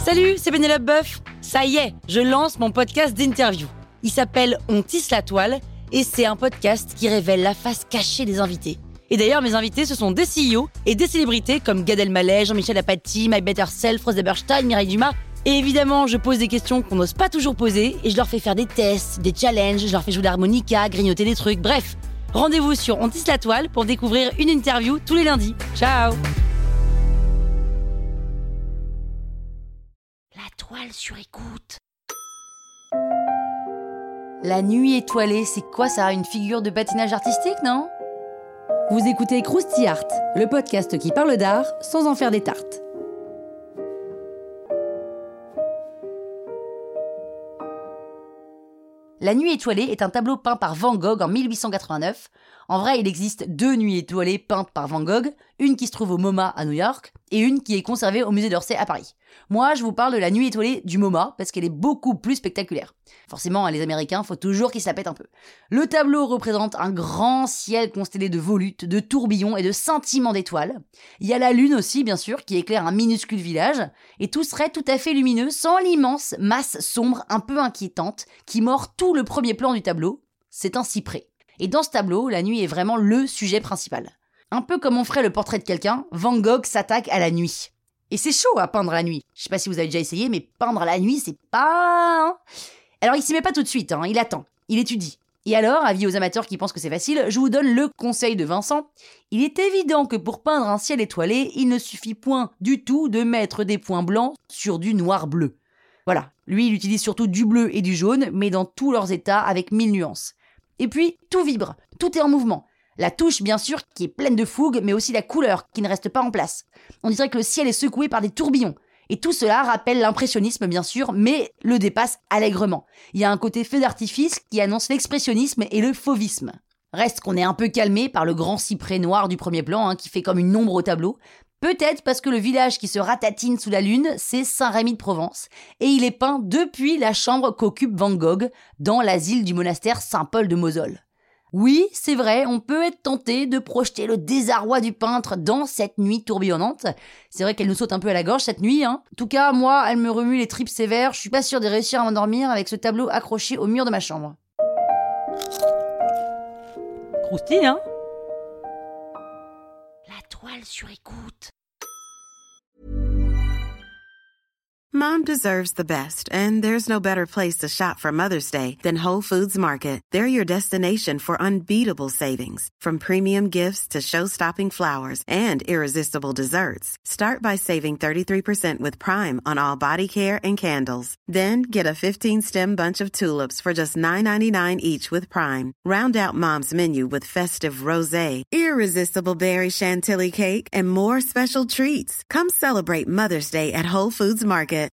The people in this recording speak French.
Salut, c'est Pénélope Boeuf. Ça y est, je lance mon podcast d'interview. Il s'appelle On tisse la toile et c'est un podcast qui révèle la face cachée des invités. Et d'ailleurs, mes invités, ce sont des CEO et des célébrités comme Gad Elmaleh, Jean-Michel Apathy, My Better Self, Rose Eberstein, Mireille Dumas. Et évidemment, je pose des questions qu'on n'ose pas toujours poser et je leur fais faire des tests, des challenges, je leur fais jouer de l'harmonica, grignoter des trucs, bref. Rendez-vous sur On tisse la toile pour découvrir une interview tous les lundis. Ciao! La toile sur écoute. La nuit étoilée, c'est quoi ça? Une figure de patinage artistique, non? Vous écoutez Krusty Art, le podcast qui parle d'art sans en faire des tartes. La nuit étoilée est un tableau peint par Van Gogh en 1889. En vrai, il existe 2 nuits étoilées peintes par Van Gogh, une qui se trouve au MoMA à New York et une qui est conservée au musée d'Orsay à Paris. Moi, je vous parle de la nuit étoilée du MoMA parce qu'elle est beaucoup plus spectaculaire. Forcément, les Américains, faut toujours qu'ils se la pètent un peu. Le tableau représente un grand ciel constellé de volutes, de tourbillons et de scintillements d'étoiles. Il y a la lune aussi, bien sûr, qui éclaire un minuscule village, et tout serait tout à fait lumineux sans l'immense masse sombre un peu inquiétante qui mord tout le premier plan du tableau. C'est un cyprès. Et dans ce tableau, la nuit est vraiment le sujet principal. Un peu comme on ferait le portrait de quelqu'un, Van Gogh s'attaque à la nuit. Et c'est chaud à peindre la nuit. Je sais pas si vous avez déjà essayé, mais peindre la nuit, c'est pas... Alors il s'y met pas tout de suite, il attend, il étudie. Et alors, avis aux amateurs qui pensent que c'est facile, je vous donne le conseil de Vincent. Il est évident que pour peindre un ciel étoilé, il ne suffit point du tout de mettre des points blancs sur du noir-bleu. Voilà, lui il utilise surtout du bleu et du jaune, mais dans tous leurs états avec 1000 nuances. Et puis, tout vibre, tout est en mouvement. La touche, bien sûr, qui est pleine de fougue, mais aussi la couleur, qui ne reste pas en place. On dirait que le ciel est secoué par des tourbillons. Et tout cela rappelle l'impressionnisme, bien sûr, mais le dépasse allègrement. Il y a un côté feu d'artifice qui annonce l'expressionnisme et le fauvisme. Reste qu'on est un peu calmé par le grand cyprès noir du premier plan, qui fait comme une ombre au tableau. Peut-être parce que le village qui se ratatine sous la lune, c'est Saint-Rémy-de-Provence. Et il est peint depuis la chambre qu'occupe Van Gogh dans l'asile du monastère Saint-Paul de Mosole. Oui, c'est vrai, on peut être tenté de projeter le désarroi du peintre dans cette nuit tourbillonnante. C'est vrai qu'elle nous saute un peu à la gorge cette nuit. En tout cas, moi, elle me remue les tripes sévères. Je suis pas sûre de réussir à m'endormir avec ce tableau accroché au mur de ma chambre. Croustille, hein? La toile sur écoute. Mom deserves the best, and there's no better place to shop for Mother's Day than Whole Foods Market. They're your destination for unbeatable savings, from premium gifts to show-stopping flowers and irresistible desserts. Start by saving 33% with Prime on all body care and candles. Then get a 15-stem bunch of tulips for just $9.99 each with Prime. Round out Mom's menu with festive rosé, irresistible berry chantilly cake, and more special treats. Come celebrate Mother's Day at Whole Foods Market.